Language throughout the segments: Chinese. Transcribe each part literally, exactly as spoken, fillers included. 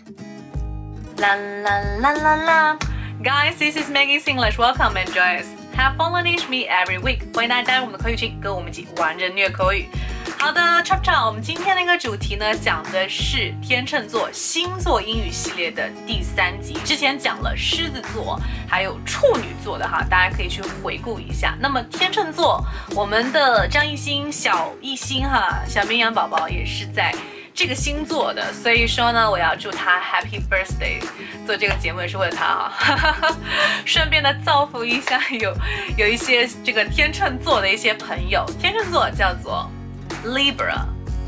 La la la la la. Guys, this is Maggie English. Welcome and join us. Have fun learning me every week. 欢迎大家加入我们的口语群，跟我们一起玩着虐口语。好的 ，Chop Chop， 我们今天的一个主题呢，讲的是天秤座星座英语系列的第三集。之前讲了狮子座，还有处女座的哈，大家可以去回顾一下。那么天秤座，我们的张艺兴、小艺兴哈，小绵羊宝宝也是在这个星座的，所以说呢，我要祝他 Happy Birthday。做这个节目也是为了他啊，顺便的造福一下有有一些这个天秤座的一些朋友。天秤座叫做 Libra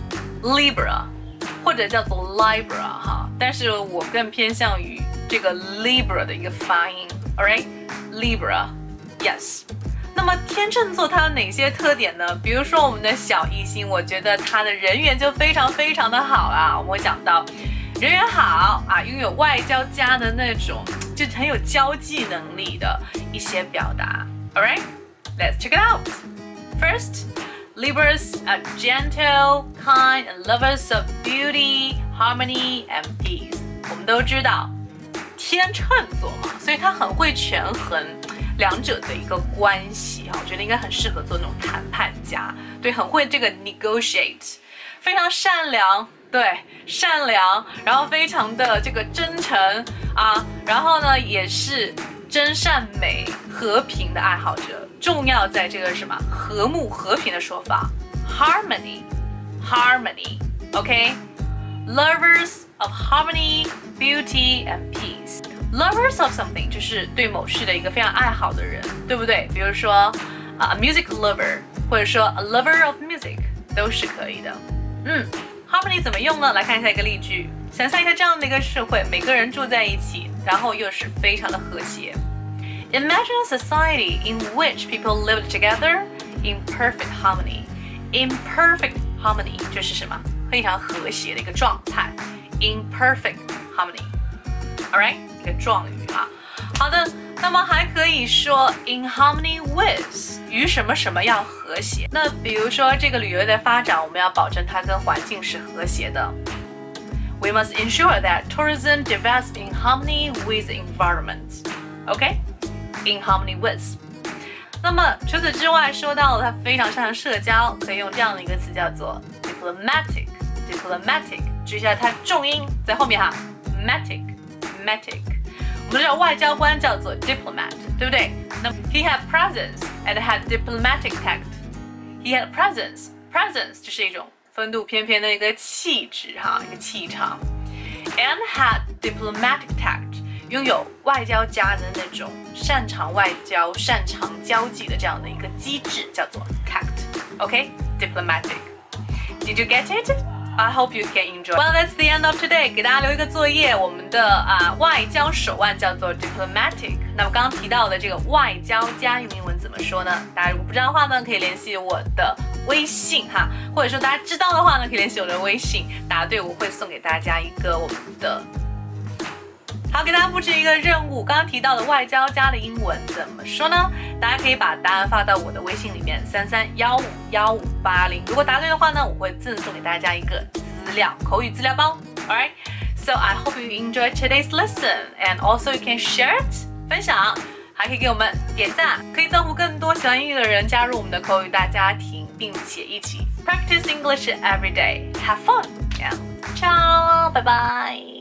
Libra 或者叫做 Libra 哈，但是我更偏向于这个 Libra 的一个发音 ，alright Libra yes。那么天秤座它有哪些特点呢？比如说我们的小艺兴，我觉得他的人缘就非常非常的好啊。我们会讲到人缘好啊，拥有外交家的那种，就很有交际能力的一些表达。Alright, let's check it out. First, Libras are gentle, kind, and lovers of beauty, harmony, and peace. 我们都知道天秤座嘛，所以他很会权衡两者的一个关系哈，我觉得应该很适合做那种谈判家，对，很会这个 negotiate， 非常善良，对，善良，然后非常的这个真诚啊，然后呢也是真善美和平的爱好者，重要在这个什么和睦和平的说法 harmony harmony OK lovers of harmony beauty and peace。Lovers of something 就是对某事的一个非常爱好的人，对不对？比如说、uh, a music lover， 或者说 a lover of music 都是可以的。嗯 ，harmony 怎么用呢？来看一下一个例句，想象一下这样的一个社会，每个人住在一起，然后又是非常的和谐。Imagine a society in which people live together in perfect harmony. In perfect harmony 就是什么？非常和谐的一个状态。In perfect harmony。Alright， 一个状语啊。好的，那么还可以说 in harmony with 与什么什么要和谐。那比如说这个旅游的发展，我们要保证它跟环境是和谐的。We must ensure that tourism develops in harmony with the environment. OK， in harmony with。那么除此之外，说到了他非常擅长社交，可以用这样的一个词叫做 diplomatic。diplomatic， 注意一下它重音在后面哈 ，matic。Diplomatic， 我们知道外交官叫做 diplomat， 对不对？那 he had presence and had diplomatic tact. He had presence， presence 就是一种风度翩翩的一个气质哈，一个气场。And had diplomatic tact， 拥有外交家的那种擅长外交、擅长交际的这样的一个机制，叫做 tact。OK，diplomatic。Did you get it?I hope you can enjoy. Well, that's the end of today. 给大家留一个作业，我们的啊外交手腕叫做 diplomatic。那么刚刚提到的这个外交家用英文怎么说呢？大家如果不知道的话呢，可以联系我的微信哈，或者说大家知道的话呢，可以联系我的微信，答对我会送给大家一个我们的。好，给大家布置一个任务，刚刚提到的外交家的英文怎么说呢？大家可以把答案发到我的微信里面三三一五一五八零，如果答对的话呢，我会赠送给大家一个资料口语资料包。Alright, so I hope you enjoyed today's lesson, and also you can share it 分享，还可以给我们点赞，可以造福更多喜欢英语的人加入我们的口语大家庭，并且一起 practice English every day. Have fun, and ciao, bye bye.